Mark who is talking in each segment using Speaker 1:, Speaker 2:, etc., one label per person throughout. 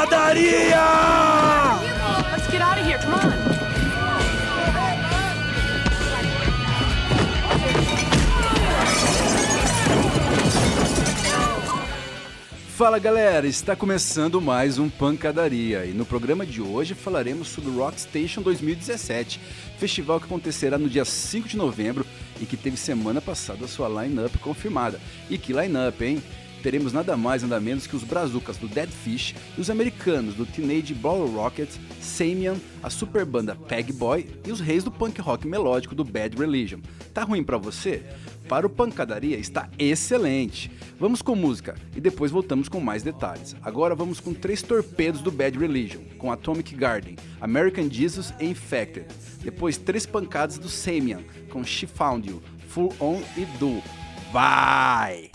Speaker 1: Pancadaria!
Speaker 2: Let's get out of here, come on.
Speaker 1: Fala galera, está começando mais um Pancadaria e no programa de hoje falaremos sobre o Rock Station 2017, festival que acontecerá no dia 5 de novembro e que teve semana passada a sua line-up confirmada. E que line-up, hein? Teremos nada mais nada menos que os brazucas do Dead Fish e os americanos do Teenage Bottle Rocket, Samian, a super banda Peg Boy e os reis do punk rock melódico do Bad Religion. Tá ruim pra você? Para o Pancadaria está excelente. Vamos com música e depois voltamos com mais detalhes. Agora vamos com 3 torpedos do Bad Religion, com Atomic Garden, American Jesus e Infected. Depois 3 pancadas do Samian, com She Found You, Full On e Do. Vai!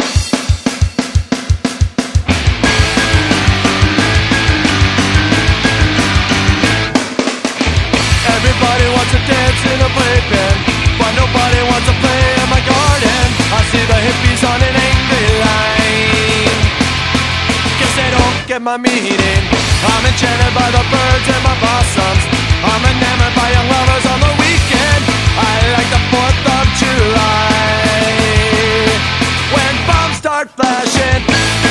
Speaker 3: Everybody wants to dance in a playpen, but nobody wants to play in my garden. I see the hippies on an angry line. Guess they don't get my meaning. I'm enchanted by the birds and my blossoms. I'm enamored by young lovers on the weekend. I like the 4th of July, when bombs start flashing.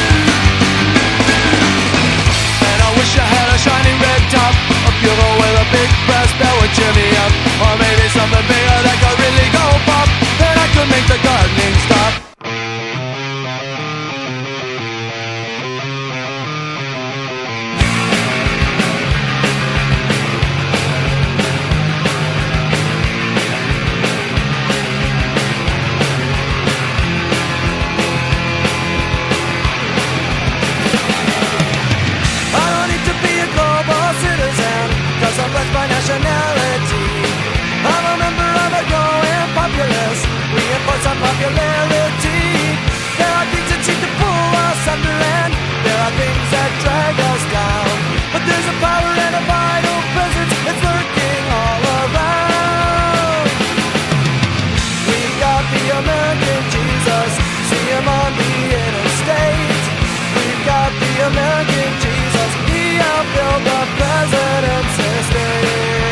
Speaker 3: And I wish I had a shiny red top, a bugle with a big brass bell would cheer me up. Or maybe something bigger that could really go pop, then I could make the gardening stop. By nationality, I'm a member of a growing populace. Reinforce our popularity. There are things that seem to pull us under, and there are things that drag us down. But there's a power and a vital presence that's lurking all around. We've got the American Jesus, see him on the interstate. We've got the American Jesus, he outbuilt the president's estate.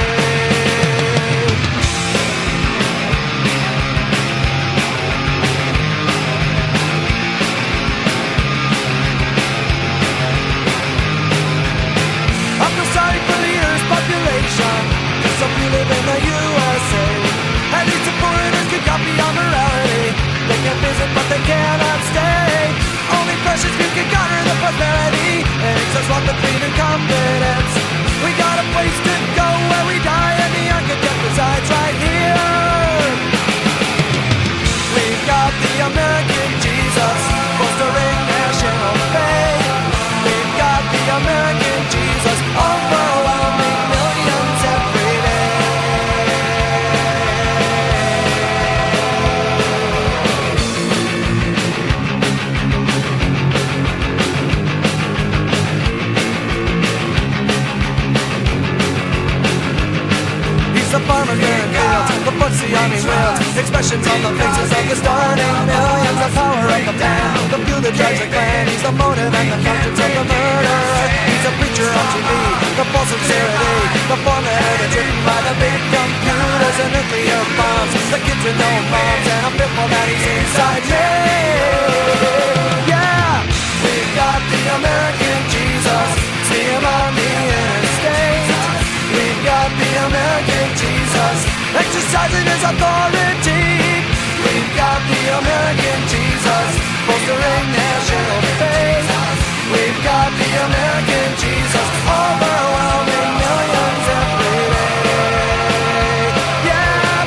Speaker 3: I feel sorry for the Earth's population, 'cause some few live in the USA. At least the foreigners can copy our morality. They can visit but they cannot stay. Only precious few can garner the prosperity, and it's us want the freedom and confidence. We got a place to go where we die, and the architect resides right here. We've got the American Jesus, fostering national faith. We've got the American Jesus, overwhelming millions every day. The farmer clearing fields, the books the army wields, expressions on the faces of the starting millions. The power of the man, the few that drives the clan. He's the motive and the conscience of the murderer. He's a preacher on TV, the false sincerity, the formula that's written by the big computers and nuclear bombs. The kids with no moms, and I'm fearful that he's inside me. Yeah, we've got the American Jesus, see him on the interstate. We've got the American Jesus, exercising his authority. We've got the American Jesus, bolstering national faith. We've got the American Jesus, overwhelming millions every day. Yeah.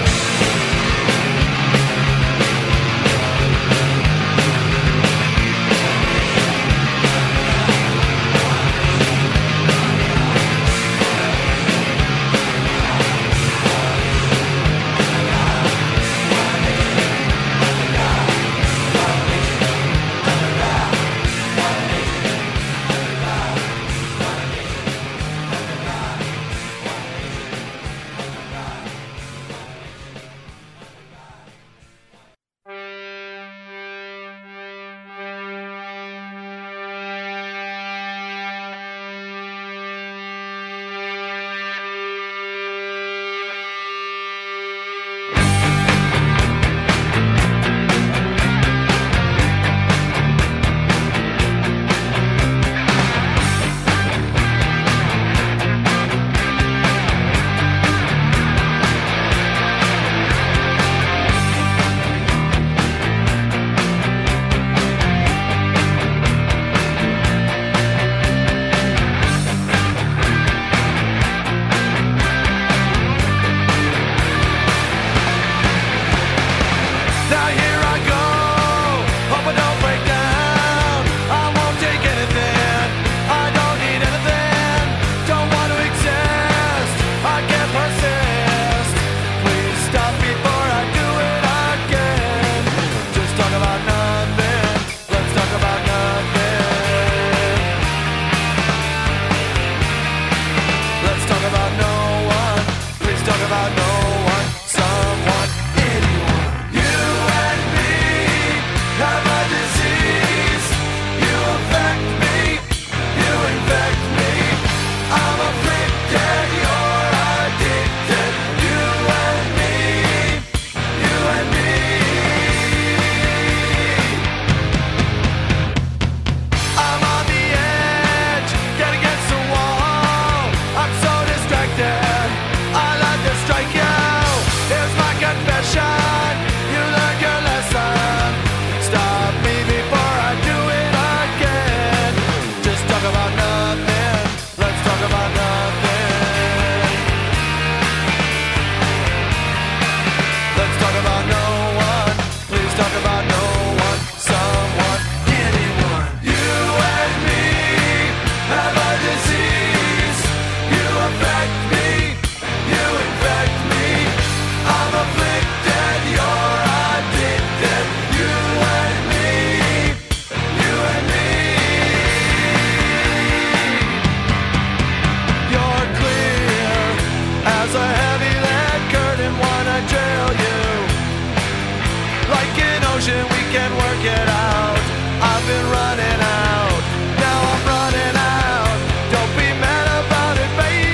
Speaker 3: can work it out. I've been running out, now I'm running out. Don't be mad about it, baby.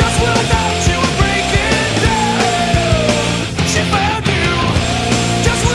Speaker 4: Just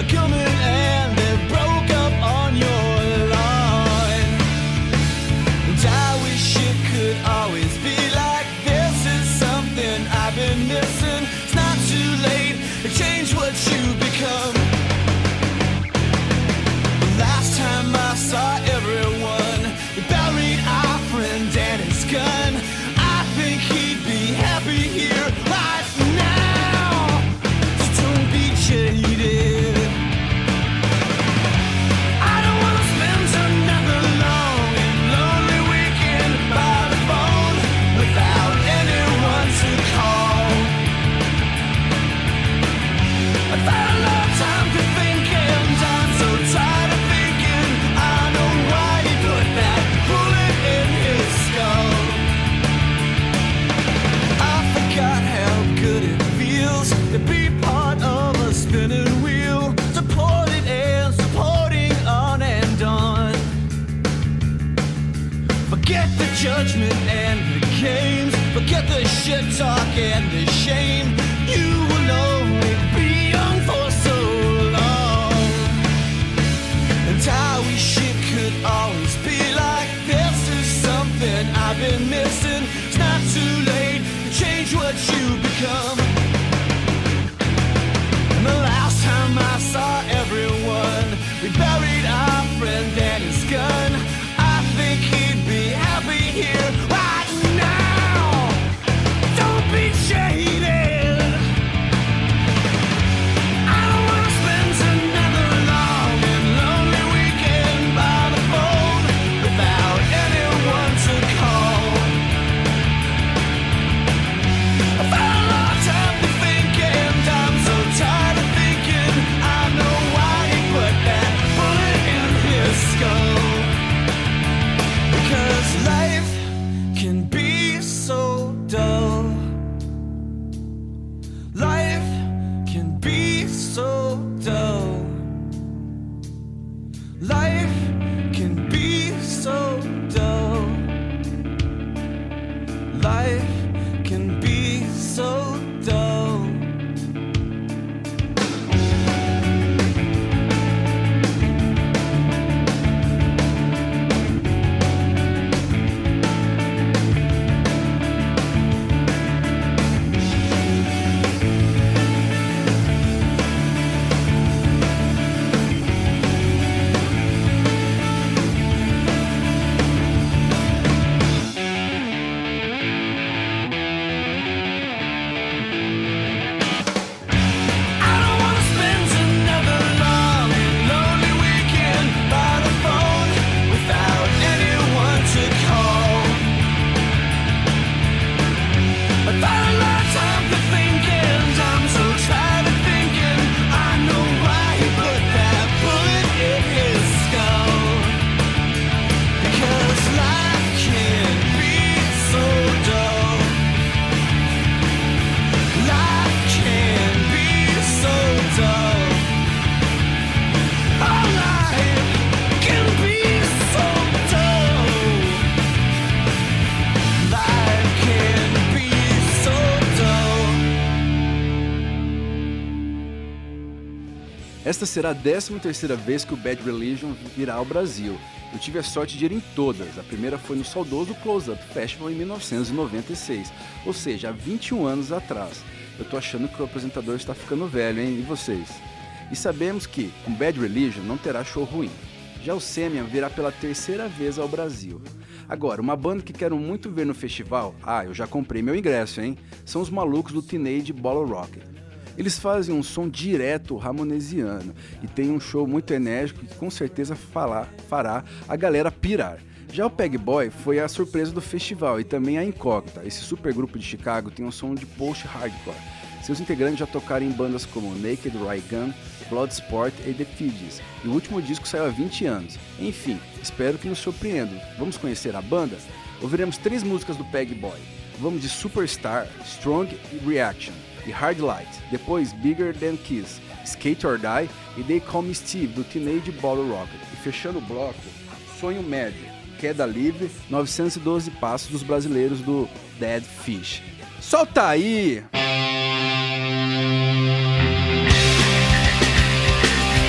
Speaker 3: coming and they broke up on your lawn. And I wish it could always be like this. Is something I've been missing. It's not too late to change what you become. The last time I saw everyone, we buried our friend and his gun. I think he'd be happy here right now. So don't be jaded. I don't wanna spend another long and lonely weekend by the phone without anyone to call. I've had a lot of time to think and I'm so tired of thinking. I know why he put that bullet in his skull. I forgot how good it feels to be part of a spinning wheel, supported and supporting on and on. Forget the judgment and the games, forget the shit talk and the shame. You will only be young for so long. And I wish it could always be like this. Is something I've been missing. It's not too late to change what you become. And the last time I saw everyone, we buried our friend and his gun. I think he'd be happy here right now. Don't be jaded. I don't wanna spend another long and lonely weekend by the phone without anyone to call. I've had a lot of time to think and I'm so tired of thinking. I know why he put that bullet in his skull. Because life can be so dull. Life can be so dull. Life can be so dull. Life can be so dull. I don't wanna spend another long and lonely weekend by the phone without anyone to call. I've had a lot of time to think and I'm so tired of thinking. I know why he put that bullet in his skull. Because life can be so dull. Life can be so dull. Oh, life can be so dull. Life can be so dull.
Speaker 1: Esta será a 13ª vez que o Bad Religion virá ao Brasil. Eu tive a sorte de ir em todas. A primeira foi no saudoso Close Up Festival em 1996, ou seja, há 21 anos atrás. Eu tô achando que o apresentador está ficando velho, hein? E vocês? E sabemos que, com Bad Religion, não terá show ruim. Já o Semian virá pela 3ª vez ao Brasil. Agora, uma banda que quero muito ver no festival, eu já comprei meu ingresso, hein? São os malucos do Teenage Bottle Rocket. Eles fazem um som direto ramonesiano e tem um show muito enérgico que com certeza fará a galera pirar. Já o Peg Boy foi a surpresa do festival e também a incógnita. Esse supergrupo de Chicago tem um som de post-hardcore. Seus integrantes já tocaram em bandas como Naked Raygun, Bloodsport e The Fugees, e o último disco saiu há 20 anos. Enfim, espero que nos surpreendam. Vamos conhecer a banda? Ouviremos 3 músicas do Peg Boy. Vamos de Superstar, Strong Reaction e Hard Light, depois Bigger Than Kiss, Skate or Die e They Call Me Steve do Teenage Bottle Rocket. E fechando o bloco, Sonho Médio, Queda Livre, 912 Passos dos brasileiros do Dead Fish. Solta aí!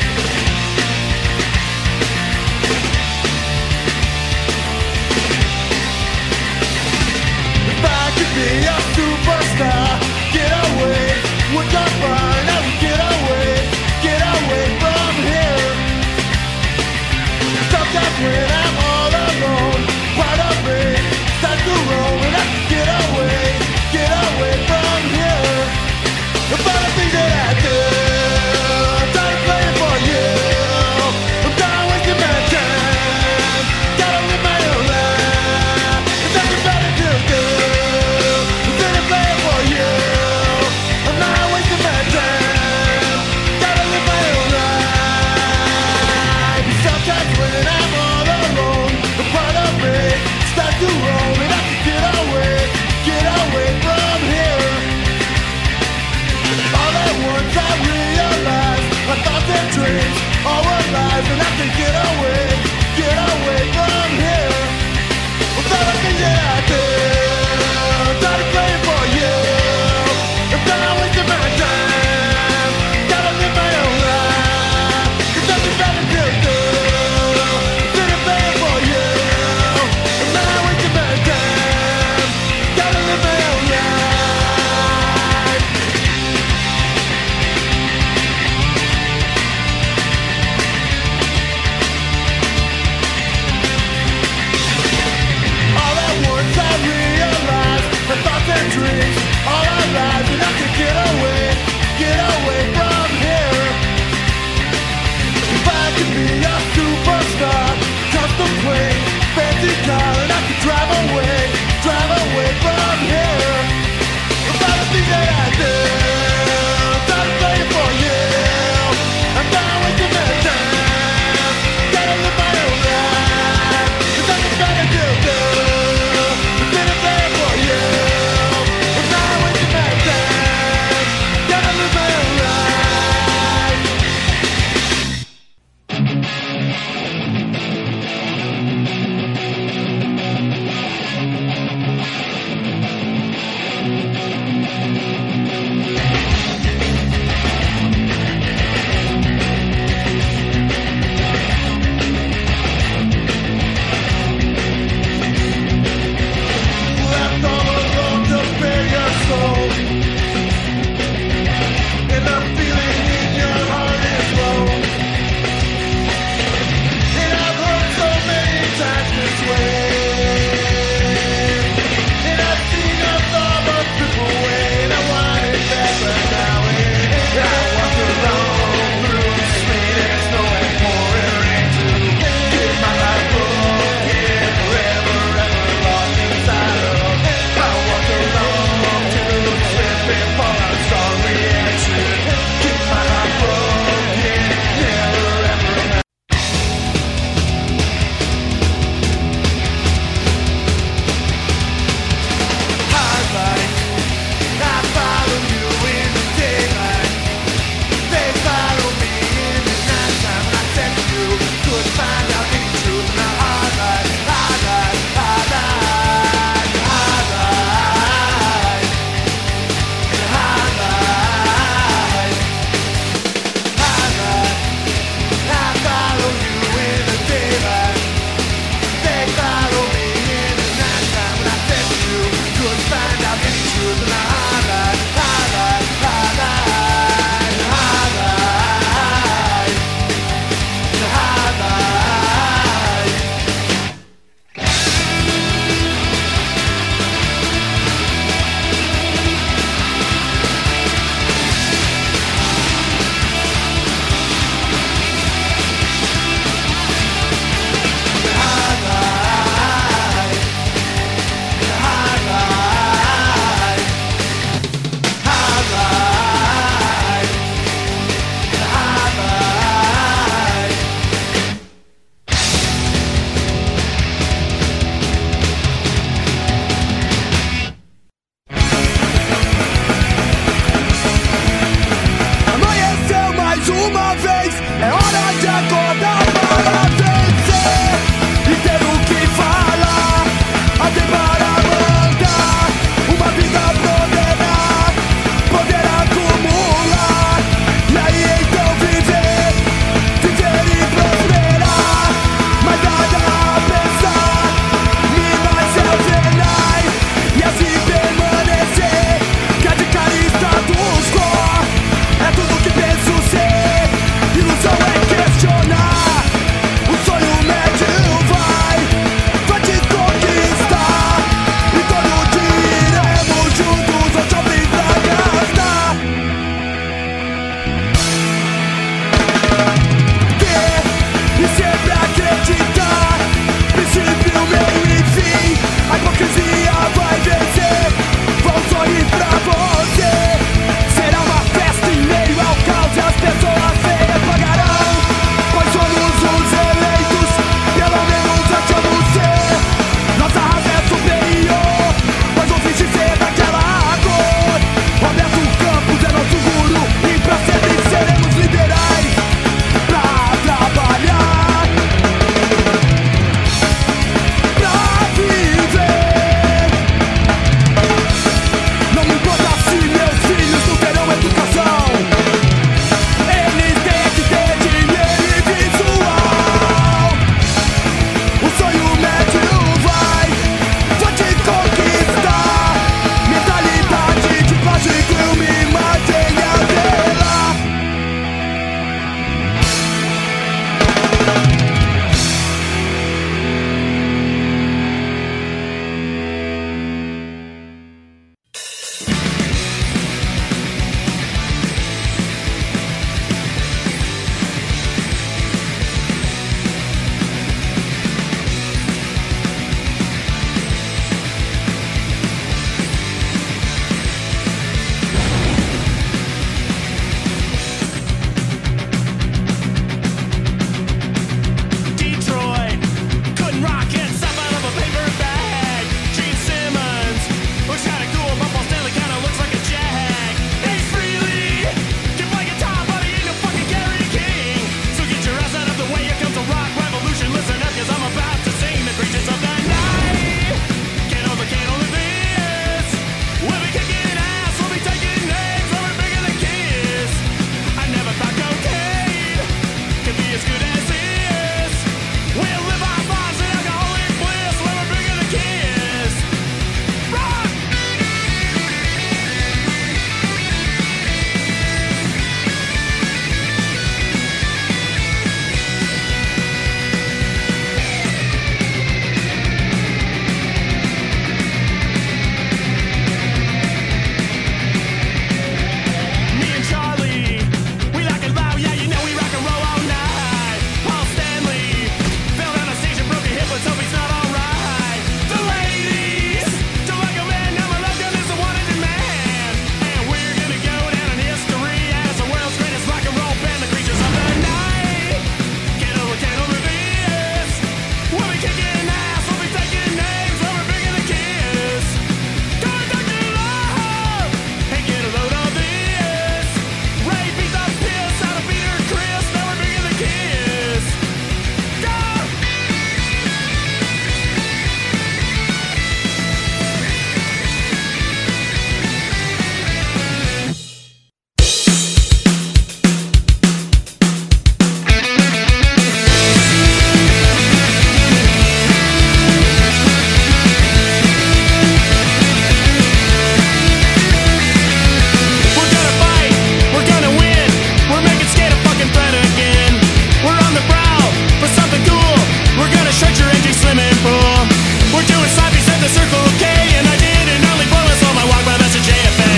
Speaker 4: fool. We're doing slappies at the Circle K, and I didn't only boil us on my walk, but that's a JFA.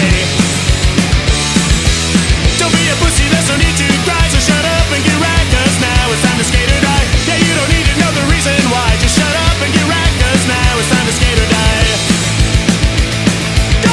Speaker 4: Don't be a pussy, there's no need to cry, so shut up and get right, 'cause now it's time to skate or die. Yeah, you don't need to know the reason why, just shut up and get right, 'cause now it's time to skate or die. Go!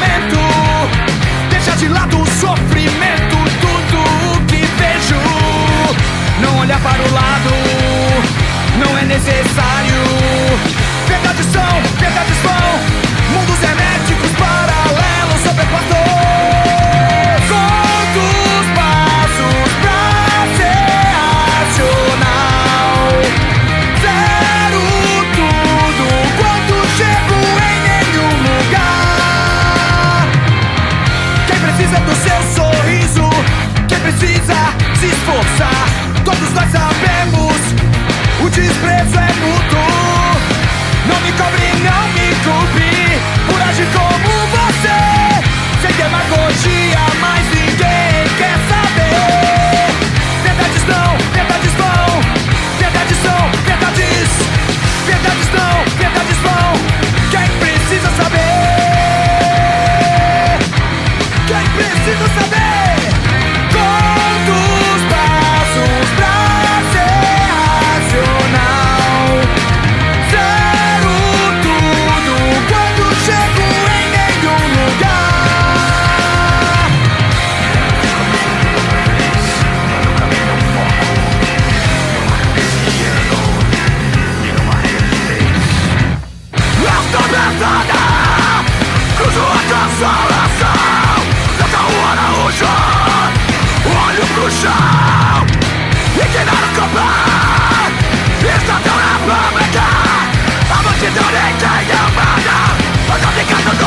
Speaker 3: momento. Deixa de lado o sofrimento. Tudo o que vejo, não olhar para o lado, não é necessário. Verdades são, verdades vão, mundos herméticos paralelos sobrepostos. Contos, passos pra ser racional. Zero tudo quando chego em nenhum lugar. Quem precisa do seu sorriso, quem precisa se esforçar. Todos nós sabemos, o desprezo é mútuo. Não me cobre, não me culpe por agir como você. Sem demagogia, mas ninguém quer saber. Verdades não, verdades vão. Verdades são, verdades. Verdades não, verdades vão. Quem precisa saber? Quem precisa saber? Quantos passos pra ser racional? Zero tudo quando chego em nenhum lugar. Esta abraçada, cruzo a consolação. Toca o Araújo, olho pro chão. E que nada comprar, está tão na fábrica. A multidão nem tem amada, mas não fica tudo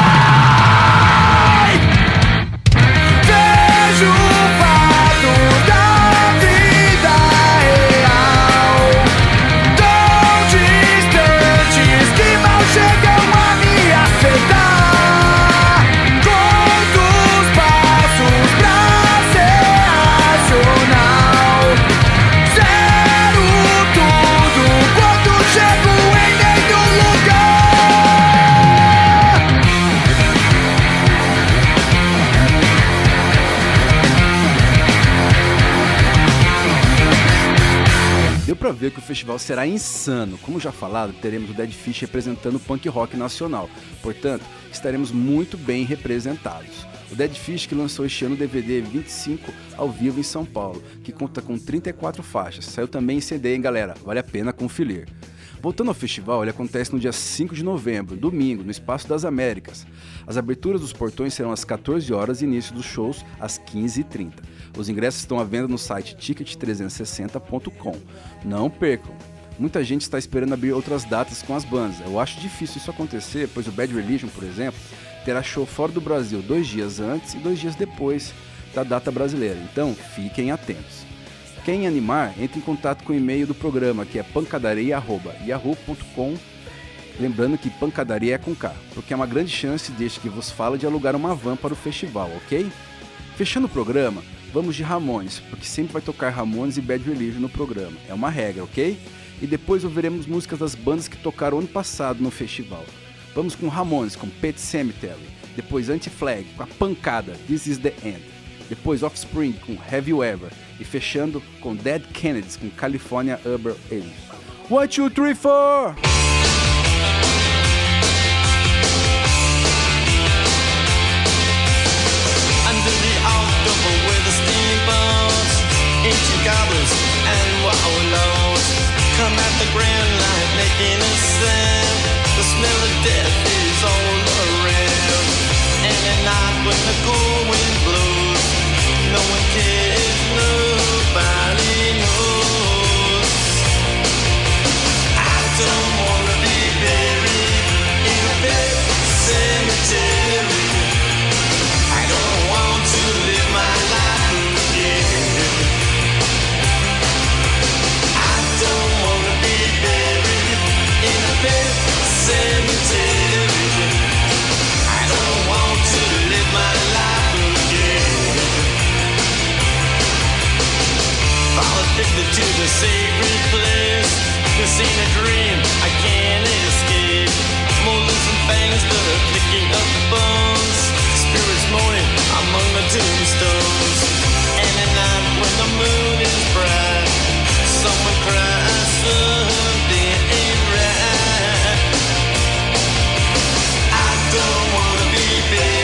Speaker 3: bem. Vejo o fato da vida real, tão distantes que mal chegam a me acertar. Quantos passos pra ser racional? Zero tudo quando chego em nenhum lugar.
Speaker 1: Deu pra ver que o festival será insano. Como já falado, teremos o Dead Fish representando o punk rock nacional. Portanto, estaremos muito bem representados. O Dead Fish que lançou este ano o DVD 25 ao vivo em São Paulo, que conta com 34 faixas. Saiu também em CD, hein, galera? Vale a pena conferir. Voltando ao festival, ele acontece no dia 5 de novembro, domingo, no Espaço das Américas. As aberturas dos portões serão às 14 horas e início dos shows às 15h30. Os ingressos estão à venda no site ticket360.com. Não percam! Muita gente está esperando abrir outras datas com as bandas. Eu acho difícil isso acontecer, pois o Bad Religion, por exemplo, terá show fora do Brasil 2 dias antes e 2 dias depois da data brasileira. Então, fiquem atentos. Quem animar, entre em contato com o e-mail do programa, que é pancadaria@yahoo.com. Lembrando que pancadaria é com K, porque é uma grande chance deste que vos fala de alugar uma van para o festival, ok? Fechando o programa, vamos de Ramones, porque sempre vai tocar Ramones e Bad Religion no programa. É uma regra, ok? E depois ouviremos músicas das bandas que tocaram ano passado no festival. Vamos com Ramones, com Pet Sematary. Depois Anti-Flag, com a pancada This Is The End. Depois Offspring, com Have You Ever. E fechando com Dead Kennedys, com California Urban Aliens. 1, 2, 3, 4!
Speaker 5: Under the October with the steamboats, ancient goblins and wallows come at the grand light making a sound. The smell of death is all around. And at night when the cold wind blows, no one cares, nobody knows. I don't wanna be buried in a big cemetery. I don't want to live my life again. I don't wanna be buried in a big cemetery. I don't want to live my life again. Fall addicted to the sacred place. This ain't a dream, I can't escape. Molars and fangs that are picking up bones. Spirits moaning among the tombstones. And at night when the moon is bright, someone cries, something ain't right. I don't wanna be buried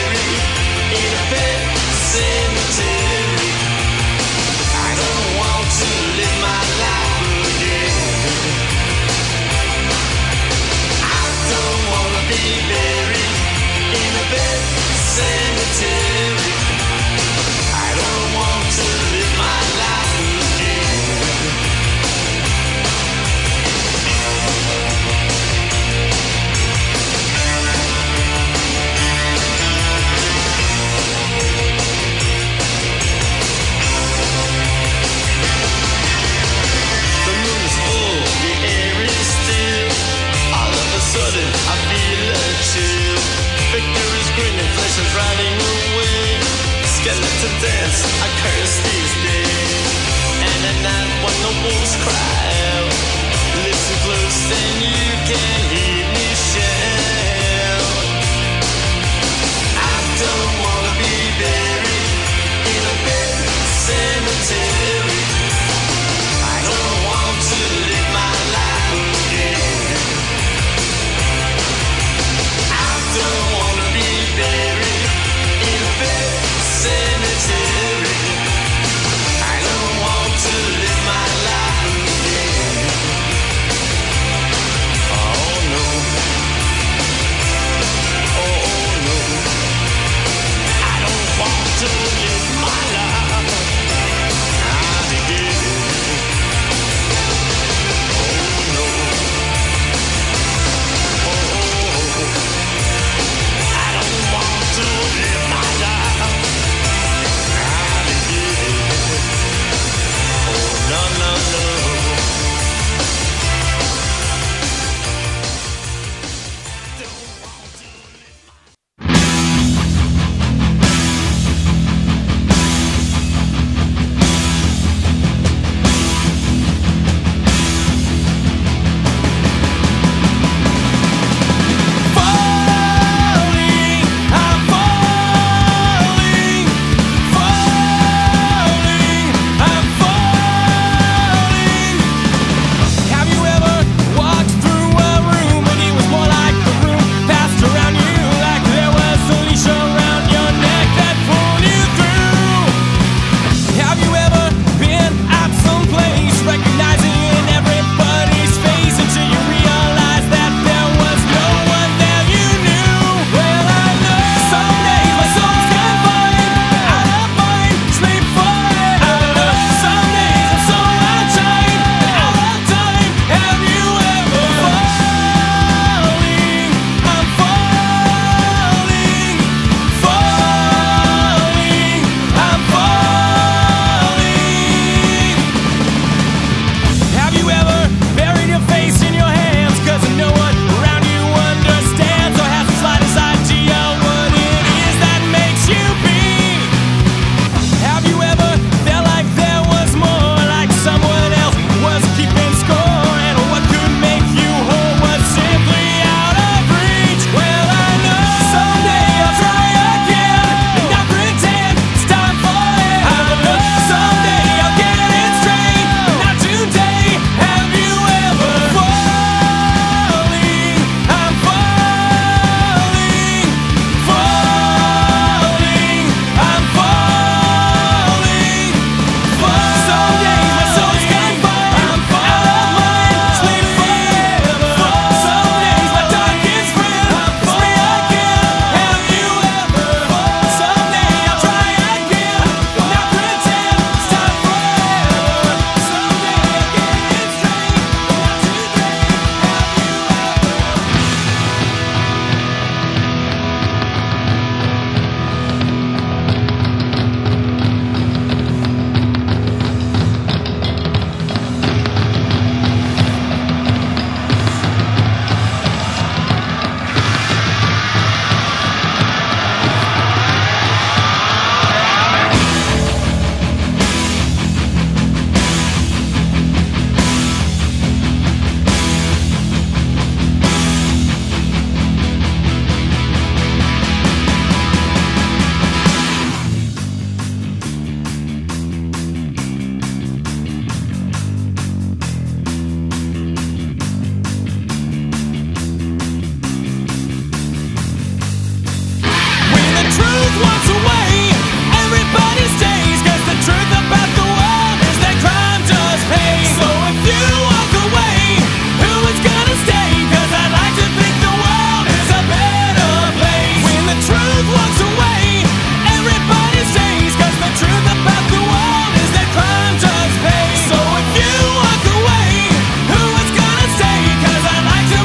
Speaker 5: I curse these days. And at night when the wolves cry out, listen close and you can hear me shout. I don't wanna be buried in a pet cemetery. I don't want to live my life again. I don't wanna be buried in a pet cemetery. I don't want to live my life again. Oh no. Oh no. I don't want to live my life again. Oh no. Oh, I don't want to live my life again. Oh no no no.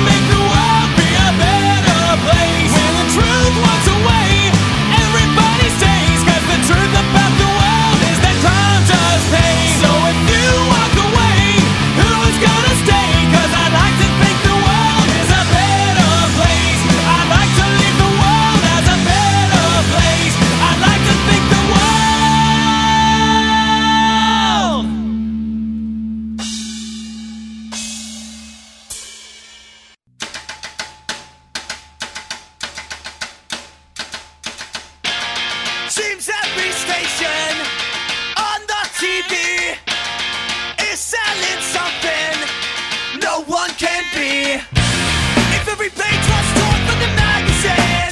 Speaker 3: Everybody's Seems every station on the TV is selling something no one can be. If every page was torn from the magazine,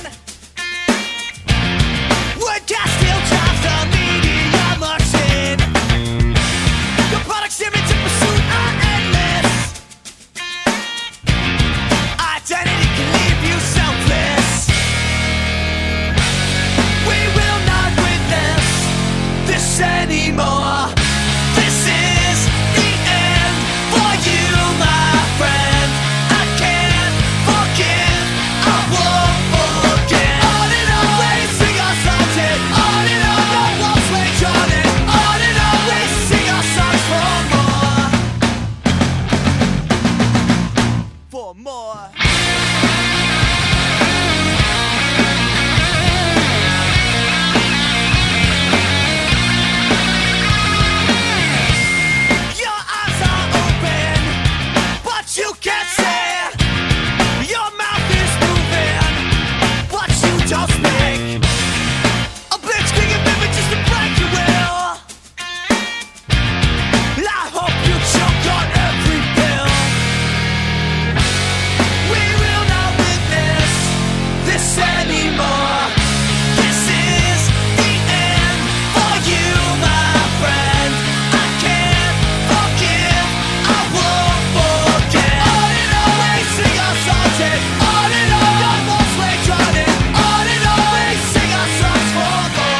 Speaker 3: would gas still drives the media machine? Your product's image and pursuit are endless. Identity can leave you selfless. We will not witness this anymore. This is the end for you, my friend. I can't forgive, I won't forget. On and on we sing our songs and on and on the walls wage on it. On and on we sing our songs for more. For more. Your eyes are open, but you can't say. Your mouth is moving, but you don't speak. A blitzkrieg of images to break your will. I hope you choke on every pill. We will not witness this anymore. This is the end for you, my friend. I can't forgive, I won't forget. On and on we sing our songs and on and on the walls wage on it. On and on we sing our songs for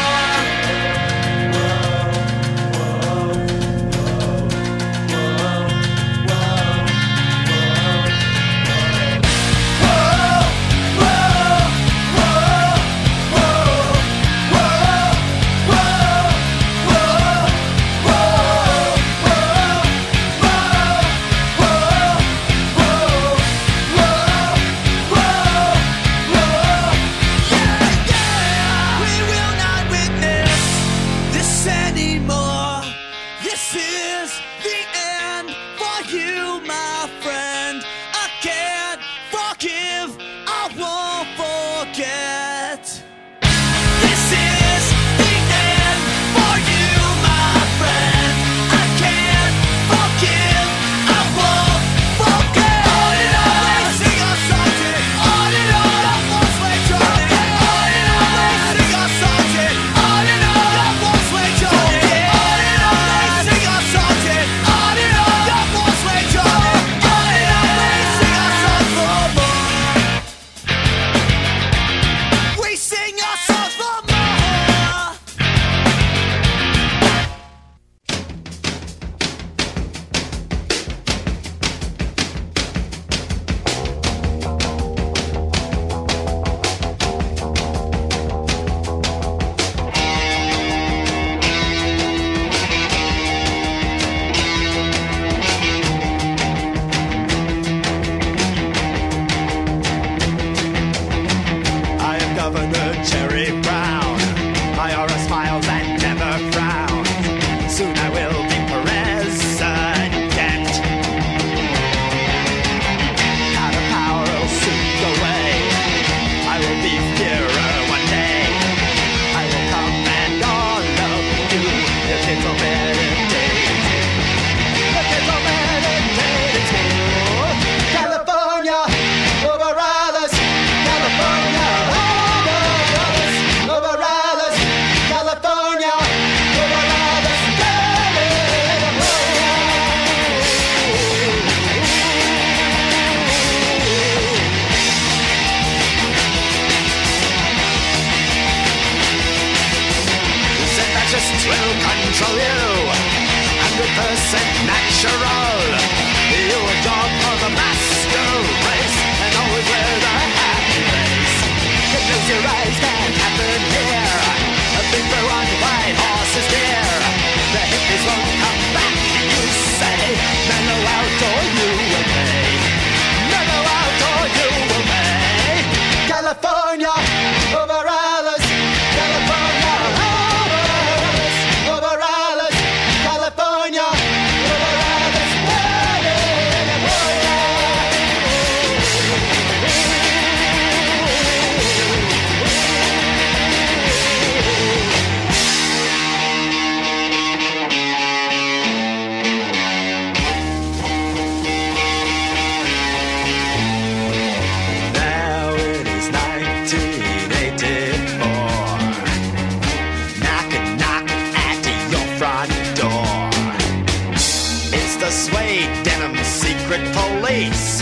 Speaker 3: We will not witness this anymore. This is the end for you, my friend. I can't forgive, I won't forget. This is the end for you, my friend. I can't forgive, I won't forget. On and on we sing our songs and on and on the walls wage on it. On and on we sing our songs and on and on the walls wage on it. On and on we sing our songs and on and on the walls wage on it. On and on we sing our songs for more. We sing our songs for more.
Speaker 5: I am Governor Jerry Brown. My aura smiles and never frowns. Soon I will be president. Out of power will soon go away. I will be Führer one day. I will command all of you. The kids will meditate. The kids will meditate in school. California, over Alice. California, over Alice. Over Alice. California, over Alice. Said that just will control you. 100% natural. You a dog for the master race, and always wear the happy face. You close your eyes, can't happen here. A big blue on white horse is dear. The hippies won't come back, you say. Mellow out or you will pay. Mellow out or you will pay. California, over Alice. California, over Alice. Over Alice. California, over Alice.
Speaker 6: face.